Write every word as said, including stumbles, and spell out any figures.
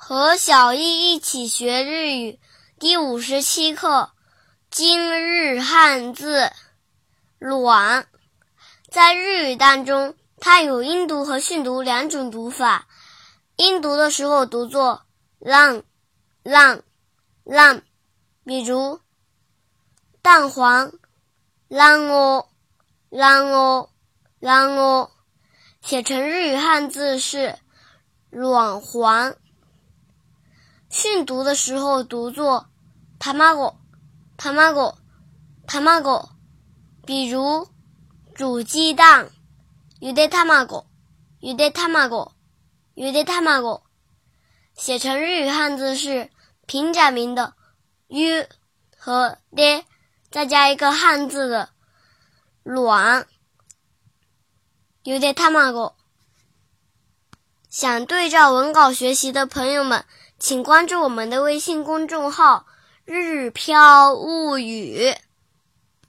和小易一起学日语第五十七课，今日汉字卵。在日语当中，它有音读和训读两种读法。音读的时候读作浪浪浪，比如蛋黄卵黄卵黄卵黄，写成日语汉字是卵黄。训读的时候读作卵卵卵，比如煮鸡蛋ゆで卵ゆで卵ゆで卵，写成日语汉字是平假名的 u 和 de， 再加一个汉字的卵ゆで卵。想对照文稿学习的朋友们，请关注我们的微信公众号日飘物语。